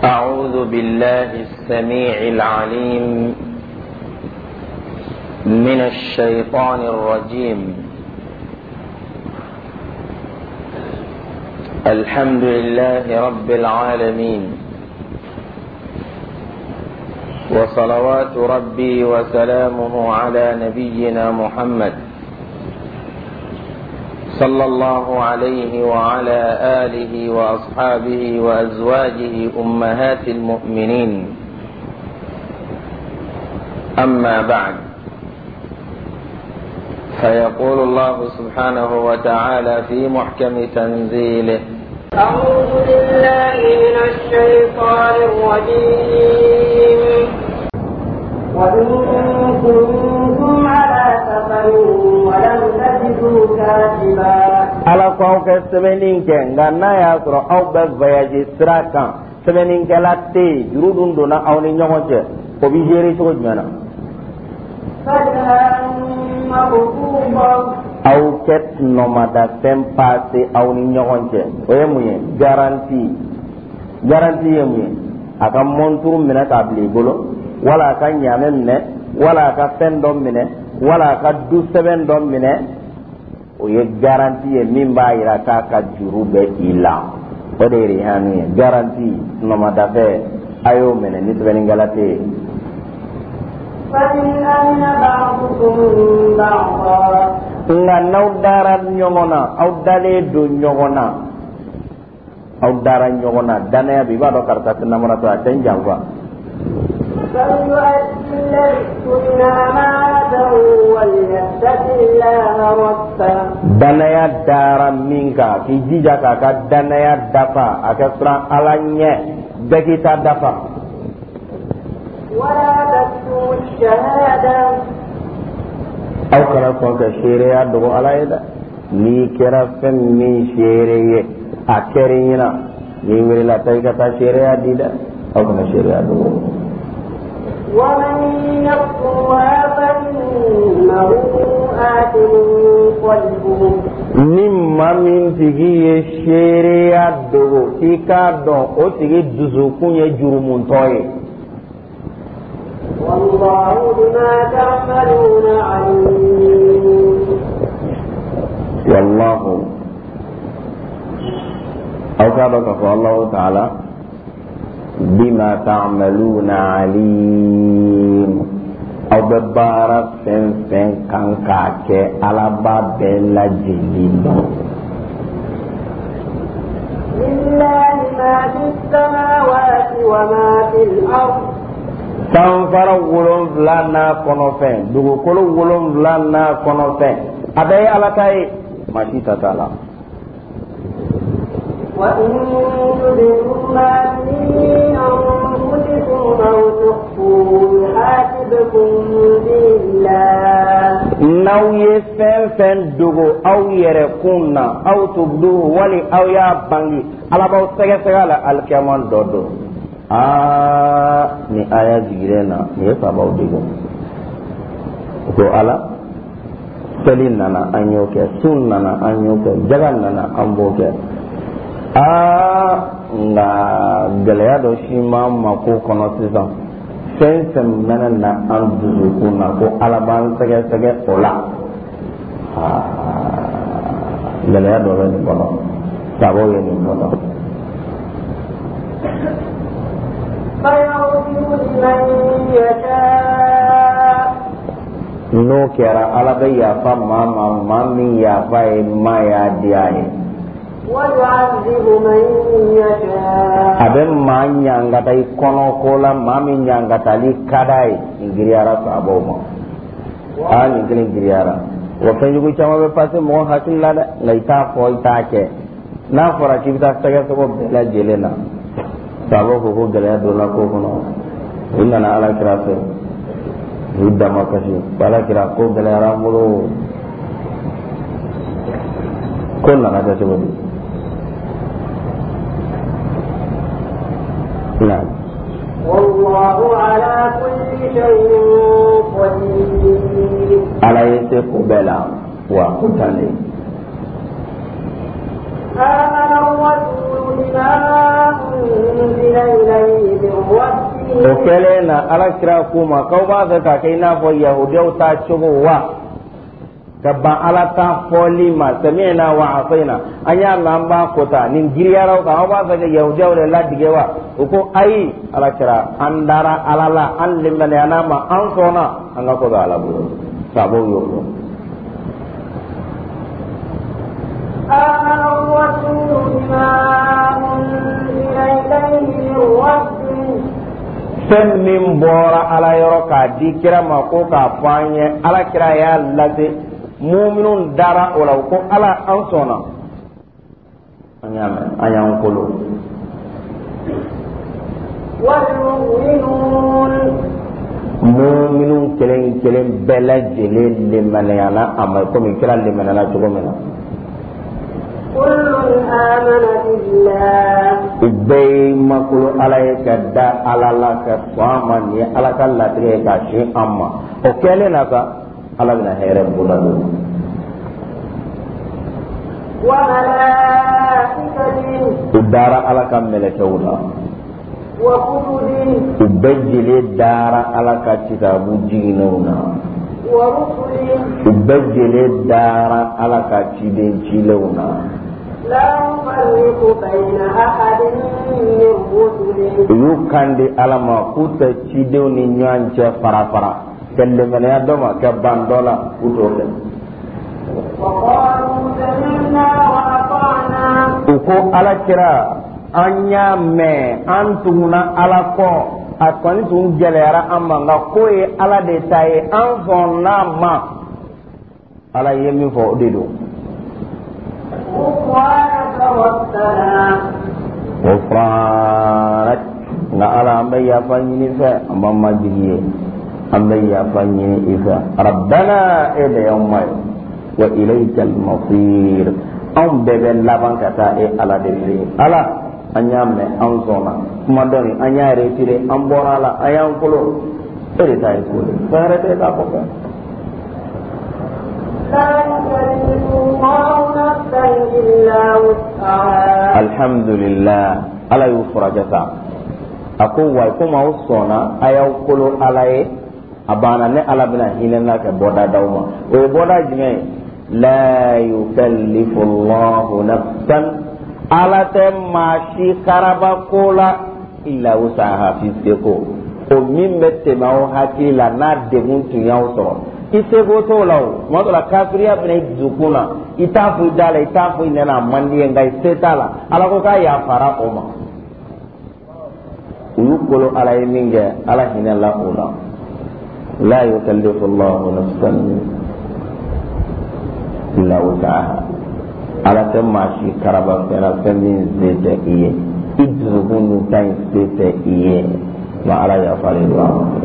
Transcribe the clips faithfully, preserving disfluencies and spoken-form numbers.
أعوذ بالله السميع العليم من الشيطان الرجيم. الحمد لله رب العالمين، وصلوات ربي وسلامه على نبينا محمد صلى الله عليه وعلى آله وأصحابه وأزواجه أمهات المؤمنين. أما بعد، فيقول الله سبحانه وتعالى في محكم تنزيله: أعوذ بالله من الشيطان الرجيم. وإن كنتم على سفر ولم تجدوا كاتبا ala ko ke sebenin ke ngana ya soro aw be voyage straka sebenin ke latte jurudun dona aw ni nyogoje ko bi jeri so jana aw ket nomada tempase aw ni nyogoje o yemuye garanti garanti yemuye aka montur mina tabli bolo wala ka nyame mine wala ka fendom mine wala ka du seben dom mine o ye garanti ye min b'a yira k'a ka juru bɛ i la o de ye rihanu ye garanti nomada fɛ a y'o minɛ ni sɛbɛnnikɛla tɛ yen. nka n'aw dara ɲɔgɔn na aw dalen don ɲɔgɔn na aw dara ɲɔgɔn na danaya bi i b'a dɔn karisa tɛ namuratɔ a tɛ n janfa. danaya dara min kan k'i jija k'a ka danaya dafa a kɛ siran ala ɲɛ bɛɛ k'i ta dafa. aw kana sɔn ka seereya dogo ala ye dɛ. n'i kɛra fɛn min seere ye a kɛra i ɲɛna n'i wulila taa i ka taa seereya di dɛ. aw kana seereya dogo. ومن يكفرها فإنه آثم قلبه. ni maa min tigi ye seereya dogo k'i k'a dɔn o tigi dusukun ye jurumuntɔ ye. والله بما تعملون عليم. والله aw k'a dɔn k'a fɔ Allahu Ta'ala bima ta'maluna alim. aw bɛ baara fɛn fɛn kan k'a kɛ ala b'a bɛɛ lajɛlen dɔn. lillahi ma fi samawati wa ma fil ard. sanfara wolonwula n'a kɔnɔfɛn dugukolo wolonwula n'a kɔnɔfɛn a bɛɛ ye ala ta ye maa si ta t'a la. وإن تبدوا ما في أنفسكم أو تخفوه يحاسبكم به الله. n'aw ye fɛn fɛn dogo aw yɛrɛ kun na aw tubduhu wali aw y'a bange ala b'aw sɛgɛsɛgɛ la alikiyama dɔ don. aa ni aya jigilen na nin ye fabaw dego ko ala seli nana an y'o kɛ sun nana an y'o kɛ jaga nana an b'o kɛ. aa nka gɛlɛya dɔ si ma ma ko kɔnɔ sisan fɛn fɛn mɛnɛ na an dusukun na ko ala b'an sɛgɛsɛgɛ o la. aa gɛlɛya dɔ bɛ nin kɔnɔ sababu ye nin kɔnɔ. n'o kɛra ala bɛ yafa maa ma maa min yafa ye maa y'a di a ye. a bɛ maa ɲangata i kɔnɔ ko la maa min ɲangatali ka d'a ye nin giriyara sababu ma. aa nin kelen giriyara wa fɛnjugu caman bɛ pase mɔgɔ hakili la dɛ nka i t'a fɔ i t'a kɛ n'a fɔra k'i bɛ taa sɛgɛsɛgɛ bɛɛ lajɛlen na sababu ko ko gɛlɛya donna ko kɔnɔ u nana ala kira fɛ u dama kasi ala kira ko gɛlɛyara an bolo ko nana kɛ cogo di. والله على كل شيء قدير. ala ye se ko bɛɛ la wa ko tan de. آمن الرسول بما أنزل إليه o kele na ala kira kuma kau ba ga ka kai na fo yahudiya ta chugo wa kabba ala ta foli ma sami'na wa asaina anya lamba kota nin giriyara ka ba ga yahudiya le la digewa ko ai ala kira andara alala an limane anama an sona an ga ko da ala bu sabo yo آمن الرسول بما أنزل إليه من ربه sen min bora ala yoro ka di kira ma ko ka fanye ala kira ya lase mu'minun dara ola ko ala an sona anyame ayan kolo wal mu'minun mu'minun kelen kelen bela jele le manana amma ko min kira le manana to gomena kullun amana billah ubay makulu alayka da alala ka faman ya alaka la tige ka shi amma o kele na ka alagna here buladu wa malaikatihi udara alaka meleke wala wa kutubihi ubajile dara alaka kitabu jinuna wa rusulihi ubajile dara alaka ciden cilewna la nufarriqu bayna ahadin min rusulihi yukandi alama kuta cidew ni nyance fara fara kelle mena ya doma ke bandola utoke wa qalu sami'na wa ata'na uko ala kira anya me antuna ala ko akoni tun gelera amma nga koye ala de taye an fonna ma ala yemi fo dedo Ufranat nga ala ambe ya fanyini fa amma majiye ambe ya fanyini ifa rabbana ila yawma wa ilayka al-masir am bebe laban kata e ala de ala anyame an zona kuma doni anya retire an borala ayan kulo ere tay kulo fare te ka ko alhamdulillah ala yufrajata ako wa kuma usona ayan kulo alaye abana ne ala bina hinena ka boda dawma o boda jime la yukallifu allah nafsan ala te mashi karaba kola illa usaha fiseko o min bette ma o hakila na degun tun yaw so isego to law mo to la kafiriya bene dukuna itafu dala itafu inena mandi ngai setala ala ko ka ya fara o ma uyukolo ala yiminge ala hinalla ola la yukallifu allah nafsan illa usaha ala ta mashi karaba fena femin zete iye idzuhunu tan zete iye ma ala ya fari wa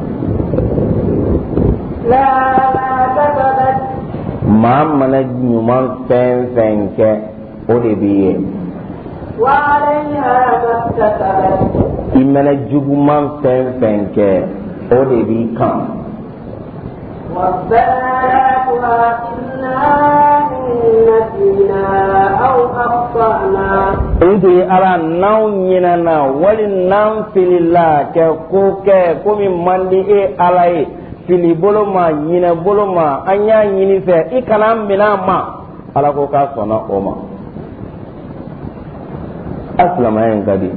la kasabat ma mana nyuman fen fenke o de biye wa alayha kasabat imana juguman fen fenke o de bi kan ربنا لا تؤاخذنا إن نسينا أو أخطأنا إنتي على نوعنا نا ولنام في الله كوك كم من دي على fili bolo ma nyina bolo ma anya nyini fe ikana mina ma ala ko ka sona o ma aslama en gadi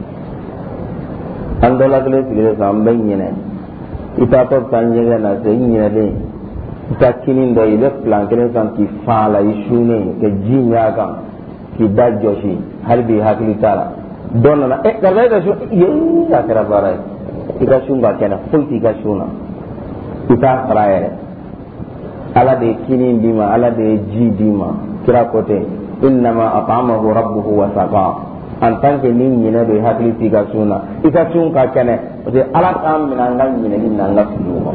andola gele sigire sambe nyine ita to tanjenge na se nyine de ita kinin do ile plan kene san ki fala ishune ke jinya ga ki dajoshi harbi hakili tala donna na e garba da shu ye ya kara bara ita shunga kana fulti ga shuna ita farayere ala de kinin dima ala de ji dima kira kote innama at'amahu rabbuhu wa saqa an tanke nin nyina de hakili tiga suna ita tun ka kene de ala kam minan ngal nyina ni nan la fulu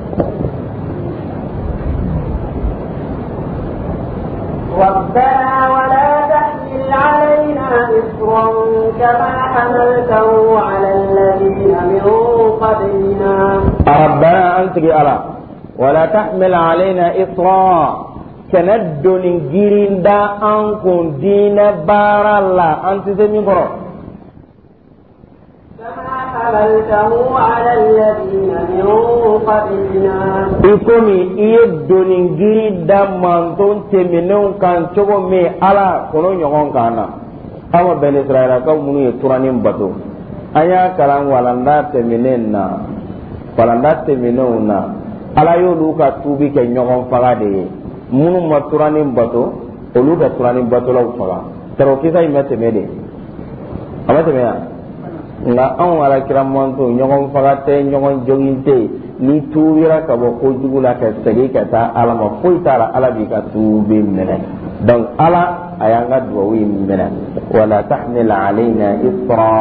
ربنا ولا تحمل علينا إصرا كما حملته على الذين من قبلنا ربنا أنت بألا ولا تحمل علينا إصرا كندن جيرين دا أنكم دين بار الله أنت زمين برو كما حملته حملته على الذين من قبلنا ikomi iye donin giri da manton teminun kan cogo me ala kono nyogon kana ama ben israila ka munu ye turanin bato aya kalan walanda teminen na walanda teminun na ala yolu ka tubi ke nyogon faga de munu ma turanin bato olu ka turanin bato la faga tero kisa imete mede amate me ya nga an wala kiram manto nyogon faga te nyogon joginte ni tuubira ka bo ko jugula ka segi ka ta ala ma foy tara ala bi ka tuubi mene donc ala ayanga duwi mene wala tahmil alaina isra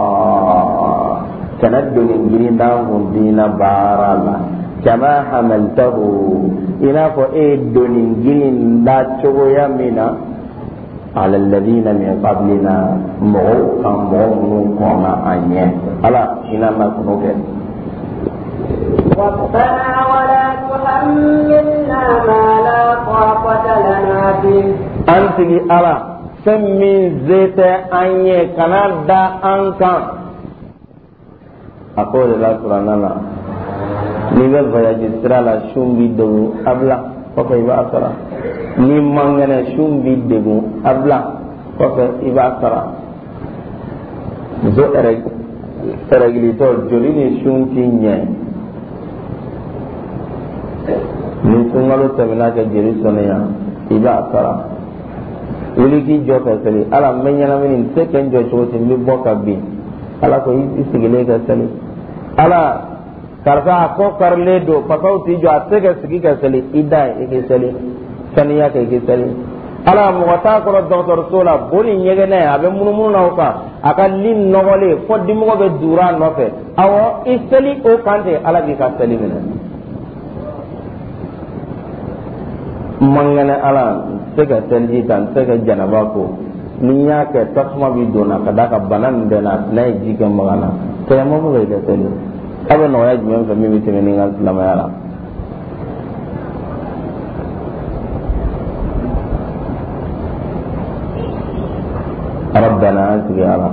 tanaddu ingirinda hundina barala kama hamaltahu ina ko e donin ginin da chogo ya mina ala alladhina min qablina mo kan mo kona anye ala ina ma kunoke ربنا ولا تحملنا ما لا طاقة لنا به أنت على سمي زيت أني كندا أنك أقول لا سرنا نيجي فياجي سرلا شومبي دو أبلا وكي بأسرا نيمانغنا شومبي دو أبلا وكي بأسرا زو إرق إرقليتو جوليني شومبي نيه ni sungalo tamina ke jeri soneya iba sara wuli ki jo ka sali ala menyana min se ken jo choti mi boka bi ala ko isigile ka sali ala karfa ko karle do pakau ti jo atege sigi ka sali idai ke sali saniya ke ke sali ala mo wata ko doctor sola boni nyege ne abe munu munu na ka aka lin nogole fo dimo be dura no fe awo isali o kante ala bi ka sali min mangane ala sega telji tan sega janaba ko ni ya ke tasma bi dona kada ka banan de na nay jike magana te mo mo ga tele aba no ya jmen fa mi mi teme ni ngal lama yala ربنا أنت على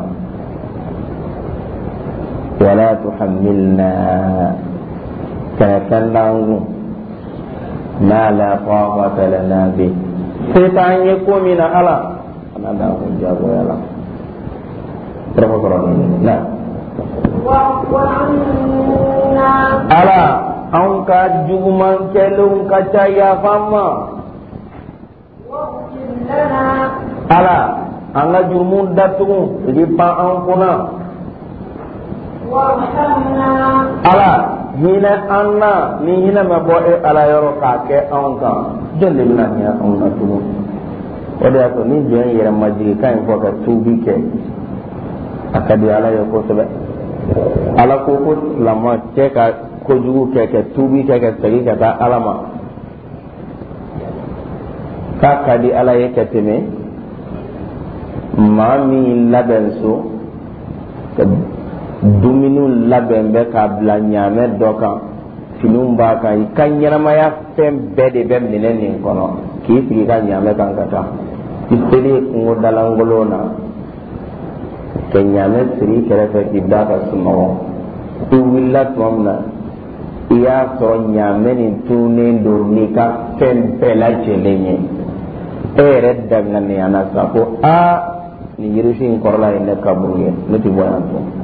ولا تحملنا كنكنا ما لا طاقة لنا به سيطان يكون من ألا أنا لا أجاب ويلا نعم ألا أنك جمعا كلهم كتايا فما ألا أنك جمعا داتهم لبا أنكنا ألا hina anna ni hina ma bo e ala yoro ka ke on ka jelle na ni on na tuno o de ato ni je yere maji kan ko ka tubi ke akadi ala yo ko sebe ala ko ko lama che ka ko jugu ke ke tubi ke ke tagi ka ta alama ka kadi ala ye ke teme mami labenso duminu labɛn bɛ k'a bila ɲaamɛ dɔ kan finiw b'a kan i ka ɲɛnamaya fɛn bɛɛ de bɛ minɛn nin kɔnɔ k'i sigi ka ɲaamɛ kan ka taa i seli kungo dalankolon na ka ɲaamɛ siri i kɛrɛfɛ k'i da ka sunɔgɔ i wulila tuma min na i y'a sɔrɔ ɲaamɛ nin tunnen don n'i ka fɛn bɛɛ lajɛlen ye e yɛrɛ danganiya na sa ko aa nin yirifin kɔrɔla ye ne kaburu ye ne tɛ bɔ yan tun.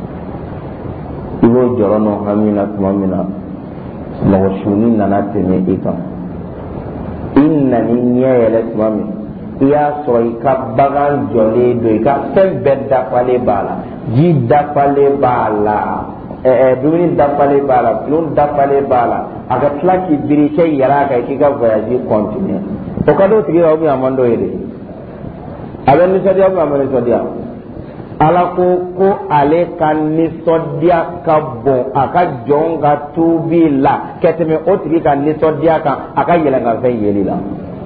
Ibo jorono hamina tumamina mɔgɔ suni nana tɛmɛ i kan i nani ɲɛ yɛlɛ tuma min i y'a sɔrɔ i ka bagan jɔlen don i ka fɛn bɛɛ dafalen b'a la ji dafalen b'a la ɛɛ dumuni dafalen b'a la bulon dafalen b'a la a ka tila k'i biri kɛ yɛlɛ a kan k'i ka voyage continue o ka d'o tigi la o bɛ a man d'o ye de a bɛ nisɔndiya o bɛ a ma nisɔndiya. Ala ko ko ale ka nisɔndiya ka bon a ka jɔn ka tubi la ka tɛmɛ o tigi ka nisɔndiya kan a ka yɛlɛnkanfɛn yeli la.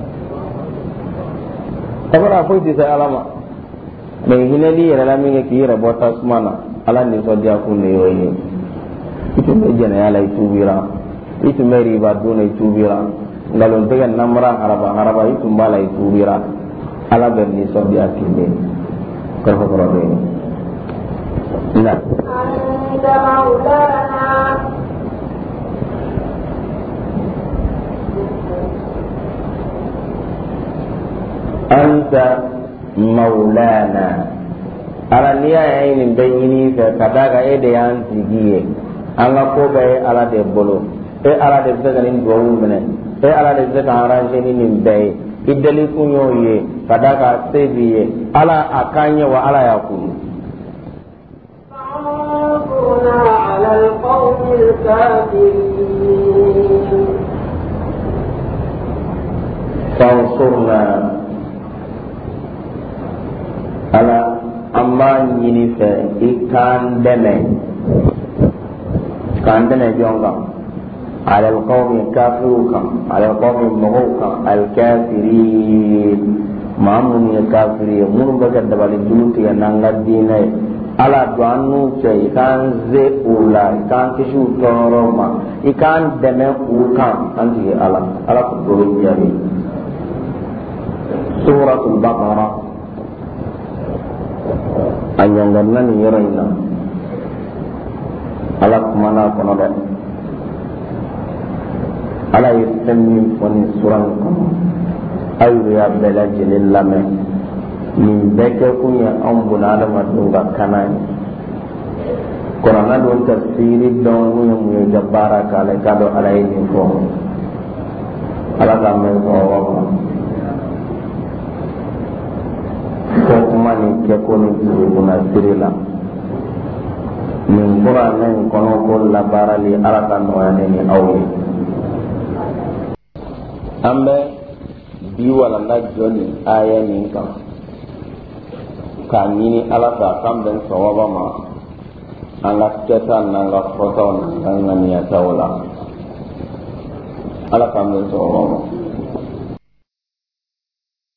Sabula foyi tɛ se ala ma mɛ hinɛli yɛrɛ la min kɛ k'i yɛrɛ bɔ tasuma na ala nisɔndiya kun de y'o ye. I tun bɛ jɛnɛya la i tubira i tun bɛ riba dun na i tubira nkalontigɛ namara haraba haraba i tun b'a la i tubira ala bɛ nisɔndiya k'i de. Kerja-kerja ini. Nah. أنت مولانا أنت مولانا ala niya yayi nin bayini fe kadaga e de yan tigiye anga ko be ala de bolo e ala de daga nin do mene e ala de daga aranje ni nin bay idali kunyo ye kadaga sebiye ala akanye wa ala yakunu على القوم الكافرين فانصرنا على أما ينفع إكان دمي كان دمي جونغا على القوم الكافرين على القوم المغوكا الكافرين ما من الكافرين من بكر دبالي جلوتي نانغا ديني ala do anu ce ikan ze ula ikan kishu toroma ikan deme ukan anti ala ala ko jari suratul baqara anyang nan ni yorina ala kumana kono de ala yismi foni suran ko ayu ya bela jelil lame min beke kunya ambuna da madunga kanani korana don tafsiri don munya munya jabbara kala kado alai ni fo ala ka men ko wa ko kuma ni ke ko ni kuna sirila min qur'an ni kono ko la barali ala ka no ane ni awli ambe bi wala na joni aya ni kan ka ɲini ala fɛ a kan bɛn sawaba ma an ka kɛta n'an ka fɔtaw n'an ka ŋaniyataw la ala kan bɛn sawaba ma